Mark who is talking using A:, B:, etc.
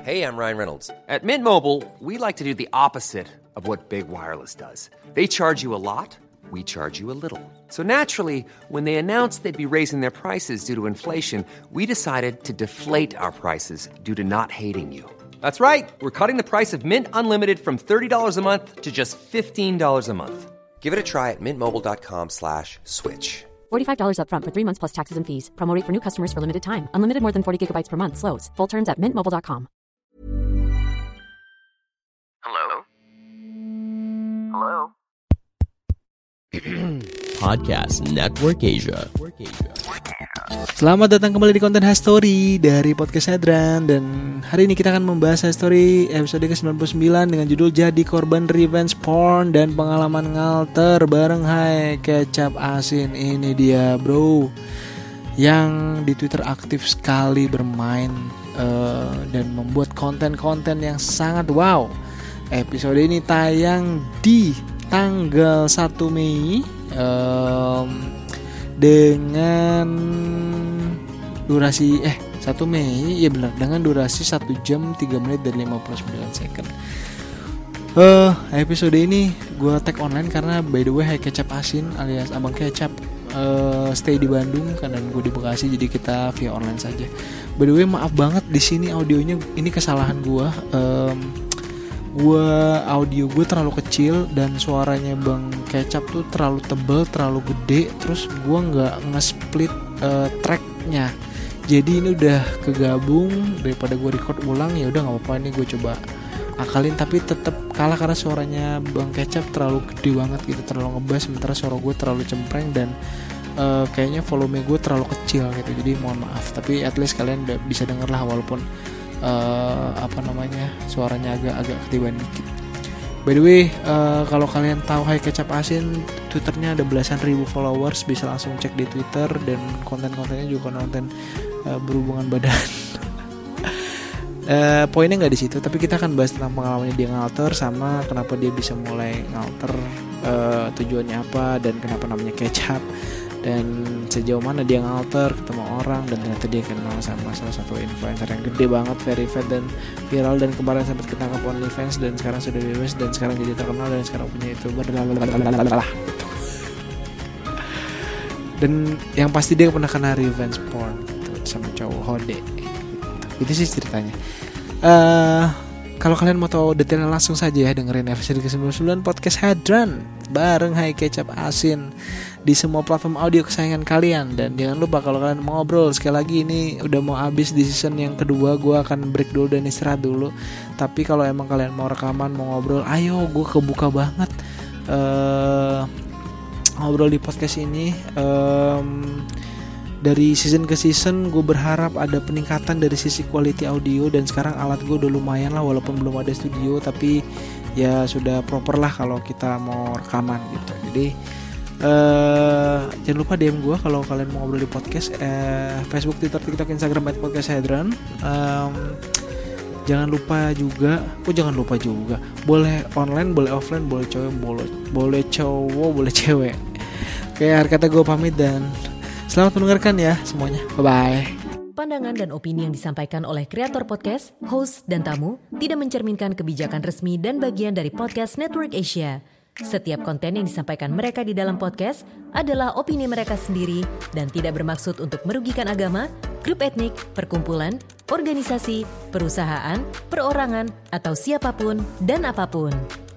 A: Hey, I'm Ryan Reynolds. At Mint Mobile, we like to do the opposite of what Big Wireless does. They charge you a lot, we charge you a little. So naturally, when they announced they'd be raising their prices due to inflation, we decided to deflate our prices due to not hating you. That's right. We're cutting the price of Mint Unlimited from $30 a month to just $15 a month. Give it a try at mintmobile.com/switch.
B: $45 up front for 3 months plus taxes and fees. Promo rate for new customers for limited time. Unlimited more than 40 gigabytes per month. Slows full terms at mintmobile.com.
C: Hello? Hello?
D: Podcast Network Asia.
E: Selamat datang kembali di konten History dari Podcast Hadran. Dan hari ini kita akan membahas History episode ke-99 dengan judul Jadi Korban Revenge Porn dan Pengalaman Ngalter bareng Hai Kecap Asin. Ini dia bro, yang di Twitter aktif sekali bermain dan membuat konten-konten yang sangat wow. Episode ini tayang di tanggal 1 Mei dengan durasi 1 Mei, ya benar, dengan durasi 1 jam 3 menit dan 59 second. Episode ini gue tag online karena by the way Hai Kecap Asin alias Abang Kecap stay di Bandung karena gue di Bekasi, jadi kita via online saja. By the way maaf banget di sini audionya, ini kesalahan gue. Audio gue terlalu kecil dan suaranya Bang Kecap tuh terlalu tebal, terlalu gede, terus gue nggak nge-split tracknya. Jadi ini udah kegabung, daripada gue record ulang ya udah nggak apa-apa, ini gue coba akalin, tapi tetap kalah karena suaranya Bang Kecap terlalu gede banget gitu, terlalu ngebass, sementara suara gue terlalu cempreng dan kayaknya volume gue terlalu kecil gitu. Jadi mohon maaf, tapi at least kalian udah bisa denger lah walaupun suaranya agak ketiban dikit. By the way, kalau kalian tahu Hai Kecap Asin, Twitternya ada belasan ribu followers, bisa langsung cek di Twitter, dan konten-kontennya juga konten berhubungan badan. Poinnya nggak di situ, tapi kita akan bahas tentang pengalamannya dia ngalter sama kenapa dia bisa mulai ngalter, tujuannya apa dan kenapa namanya Kecap, dan sejauh mana dia ngalter, ketemu orang, dan ternyata dia kenal sama salah satu influencer yang gede banget, verified dan viral, dan kemarin sempat ketangkap OnlyFans dan sekarang sudah bebas dan sekarang jadi terkenal dan sekarang punya YouTuber gitu. Dan yang pasti dia pernah kena revenge porn gitu sama cowok hode gitu. Itu sih ceritanya. Kalau kalian mau tahu detailnya langsung saja ya dengerin episode ke-99 Podcast Hadran bareng Hai Kecap Asin di semua platform audio kesayangan kalian. Dan jangan lupa kalau kalian mau ngobrol, sekali lagi ini udah mau habis di season yang kedua, gue akan break dulu dan istirahat dulu. Tapi kalau emang kalian mau rekaman, mau ngobrol, ayo, gue kebuka banget ngobrol di podcast ini. Dari season ke season gue berharap ada peningkatan dari sisi quality audio, dan sekarang alat gue udah lumayan lah walaupun belum ada studio, tapi ya sudah proper lah kalau kita mau rekaman gitu. Jadi jangan lupa DM gue kalau kalian mau ngobrol di podcast, Facebook, Twitter, TikTok, Instagram @podcasthadran. Jangan lupa juga boleh online, boleh offline, boleh cowok, boleh cewek. Oke, akhir kata gue pamit dan selamat mendengarkan ya semuanya. Bye-bye.
F: Pandangan dan opini yang disampaikan oleh kreator podcast, host, dan tamu tidak mencerminkan kebijakan resmi dan bagian dari Podcast Network Asia. Setiap konten yang disampaikan mereka di dalam podcast adalah opini mereka sendiri dan tidak bermaksud untuk merugikan agama, grup etnik, perkumpulan, organisasi, perusahaan, perorangan, atau siapapun dan apapun.